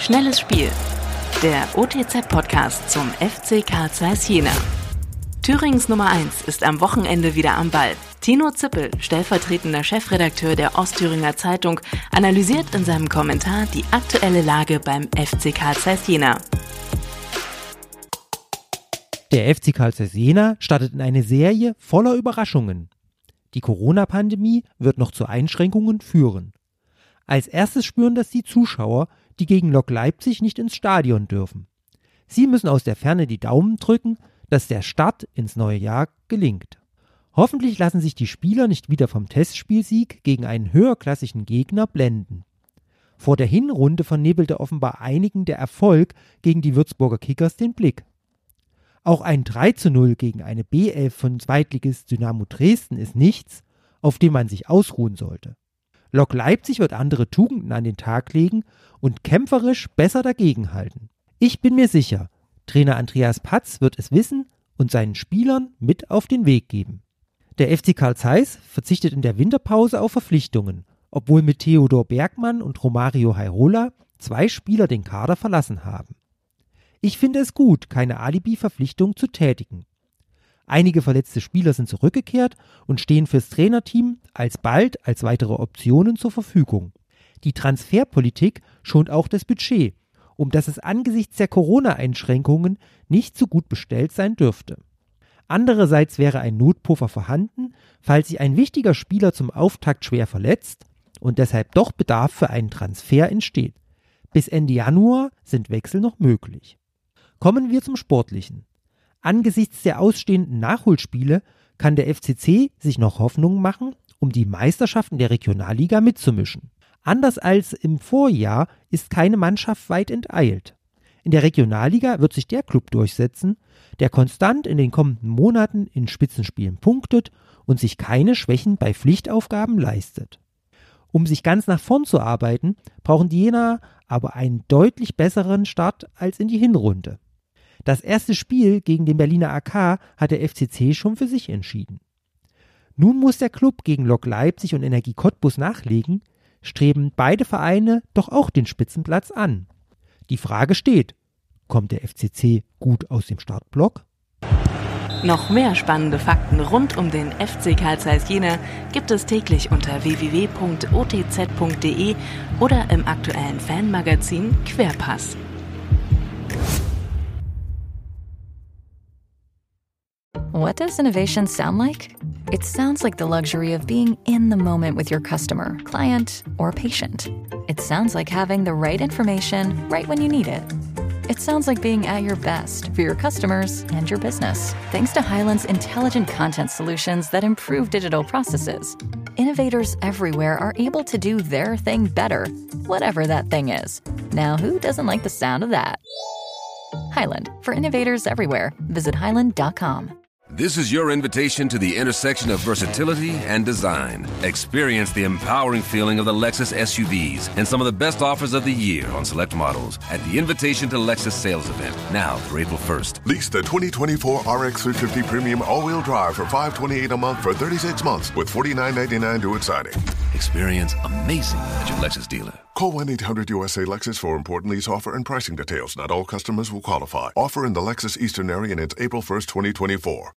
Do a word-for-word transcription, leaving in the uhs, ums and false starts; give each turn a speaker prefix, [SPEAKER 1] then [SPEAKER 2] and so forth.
[SPEAKER 1] Schnelles Spiel. Der O T Z-Podcast zum F C Carl Zeiss Jena. Thürings Nummer eins ist am Wochenende wieder am Ball. Tino Zippel, stellvertretender Chefredakteur der Ostthüringer Zeitung, analysiert in seinem Kommentar die aktuelle Lage beim F C Carl Zeiss Jena.
[SPEAKER 2] Der F C Carl Zeiss Jena startet in eine Serie voller Überraschungen. Die Corona-Pandemie wird noch zu Einschränkungen führen. Als erstes spüren das die Zuschauer, die gegen Lok Leipzig nicht ins Stadion dürfen. Sie müssen aus der Ferne die Daumen drücken, dass der Start ins neue Jahr gelingt. Hoffentlich lassen sich die Spieler nicht wieder vom Testspielsieg gegen einen höherklassigen Gegner blenden. Vor der Hinrunde vernebelte offenbar einigen der Erfolg gegen die Würzburger Kickers den Blick. Auch ein drei zu null gegen eine B elf von Zweitligist Dynamo Dresden ist nichts, auf dem man sich ausruhen sollte. Lok Leipzig wird andere Tugenden an den Tag legen und kämpferisch besser dagegenhalten. Ich bin mir sicher, Trainer Andreas Patz wird es wissen und seinen Spielern mit auf den Weg geben. Der F C Carl Zeiss verzichtet in der Winterpause auf Verpflichtungen, obwohl mit Theodor Bergmann und Romario Hairola zwei Spieler den Kader verlassen haben. Ich finde es gut, keine Alibi-Verpflichtung zu tätigen. Einige verletzte Spieler sind zurückgekehrt und stehen fürs Trainerteam alsbald als weitere Optionen zur Verfügung. Die Transferpolitik schont auch das Budget, um das es angesichts der Corona-Einschränkungen nicht so gut bestellt sein dürfte. Andererseits wäre ein Notpuffer vorhanden, falls sich ein wichtiger Spieler zum Auftakt schwer verletzt und deshalb doch Bedarf für einen Transfer entsteht. Bis Ende Januar sind Wechsel noch möglich. Kommen wir zum Sportlichen. Angesichts der ausstehenden Nachholspiele kann der F C C sich noch Hoffnungen machen, um die Meisterschaften der Regionalliga mitzumischen. Anders als im Vorjahr ist keine Mannschaft weit enteilt. In der Regionalliga wird sich der Klub durchsetzen, der konstant in den kommenden Monaten in Spitzenspielen punktet und sich keine Schwächen bei Pflichtaufgaben leistet. Um sich ganz nach vorn zu arbeiten, brauchen die Jenaer aber einen deutlich besseren Start als in die Hinrunde. Das erste Spiel gegen den Berliner A K hat der F C C schon für sich entschieden. Nun muss der Klub gegen Lok Leipzig und Energie Cottbus nachlegen, streben beide Vereine doch auch den Spitzenplatz an. Die Frage steht, kommt der F C C gut aus dem Startblock?
[SPEAKER 1] Noch mehr spannende Fakten rund um den F C Carl Zeiss Jena gibt es täglich unter w w w punkt o t z punkt d e oder im aktuellen Fanmagazin Querpass.
[SPEAKER 3] What does innovation sound like? It sounds like the luxury of being in the moment with your customer, client, or patient. It sounds like having the right information right when you need it. It sounds like being at your best for your customers and your business. Thanks to Hyland's intelligent content solutions that improve digital processes, innovators everywhere are able to do their thing better, whatever that thing is. Now, who doesn't like the sound of that? Hyland, for innovators everywhere. Visit hyland dot com.
[SPEAKER 4] This is your invitation to the intersection of versatility and design. Experience the empowering feeling of the Lexus S U Vs and some of the best offers of the year on select models at the Invitation to Lexus sales event, now through April first.
[SPEAKER 5] Lease the twenty twenty-four R X three fifty Premium all-wheel drive for five hundred twenty-eight dollars a month for thirty-six months with forty-nine ninety-nine due at signing.
[SPEAKER 4] Experience amazing at your Lexus dealer.
[SPEAKER 5] Call one eight hundred U S A Lexus for important lease offer and pricing details. Not all customers will qualify. Offer in the Lexus Eastern area and it's April first, twenty twenty-four.